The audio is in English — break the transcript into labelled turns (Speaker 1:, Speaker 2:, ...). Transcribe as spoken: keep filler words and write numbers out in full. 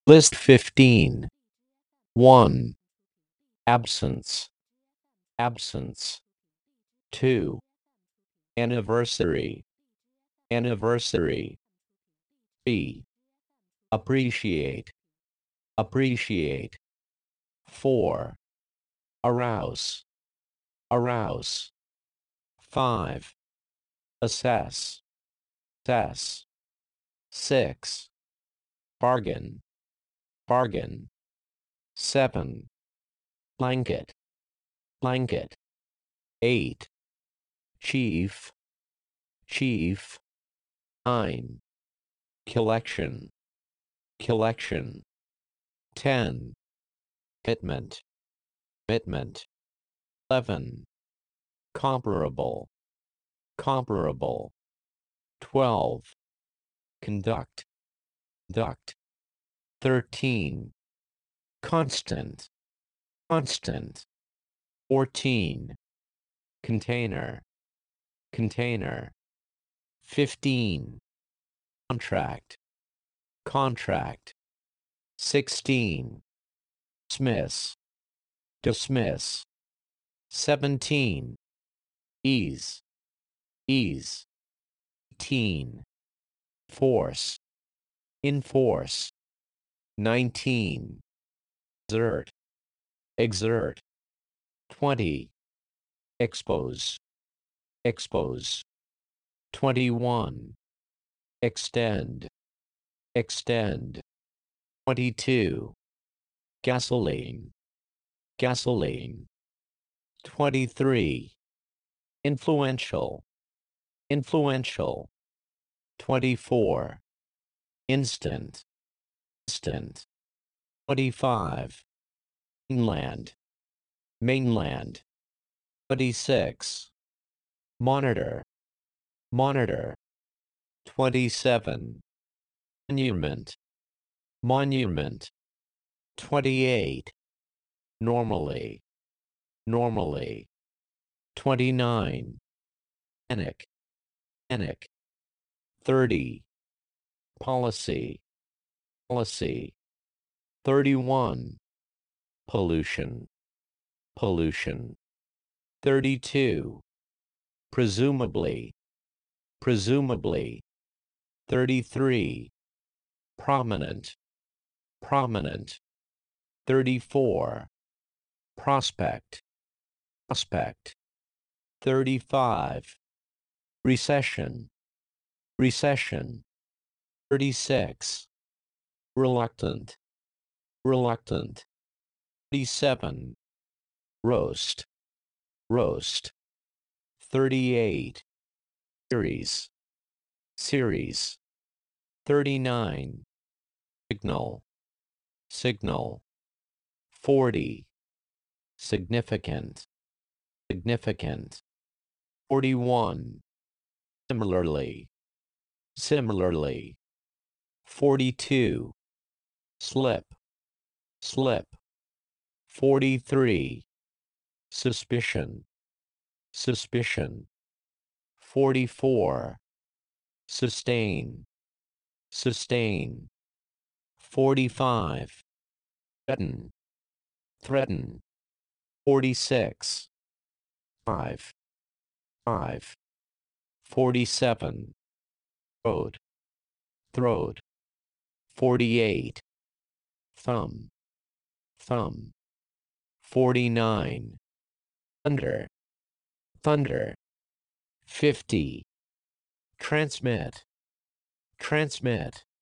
Speaker 1: List fifteen. one. Absence. Absence. two. Anniversary. Anniversary. three. Appreciate. Appreciate. four. Arouse. Arouse. five. Assess. Assess. six. Bargain. Bargain. seven. Blanket. Blanket. eight. Chief. Chief. nine. Collection. Collection. ten. Commitment. Commitment. eleven. Comparable. Comparable. twelve. Conduct. Conduct. thirteen. Constant. Constant. fourteen. Container. Container. fifteen. Contract. Contract. sixteen. Dismiss. Dismiss. seventeen. Ease. Ease. eighteen. Force. Enforce. nineteen. Exert. Exert. twenty. Expose. Expose. twenty-one. Extend. Extend. twenty-two. Gasoline. Gasoline. twenty-three. Influential. Influential. twenty-four. Instant. Instant. twenty-five. Mainland. Mainland. twenty-six. Monitor. Monitor. twenty-seven. Monument. Monument. twenty-eight. Normally. Normally. twenty-nine. Panic. Panic. thirty. Policy. Policy. thirty-one. Pollution. Pollution. thirty-two. Presumably. Presumably. thirty-three. Prominent. Prominent. thirty-four. Prospect. Prospect. thirty-five. Recession. Recession. thirty-six. Reluctant. Reluctant. thirty-seven. Roast. Roast. thirty-eight. Series. Series. thirty-nine. Signal. Signal. forty. Significant. Significant. forty-one. Similarly. Similarly. forty-two. Slip. Slip. forty-three. Suspicion. Suspicion. forty-four. Sustain. Sustain. forty-five. Threaten. Threaten. forty-six. five. five. forty-seven. Throat. Throat. forty-eight. Thumb. Thumb. forty-nine. Thunder. Thunder. fifty. Transmit. Transmit.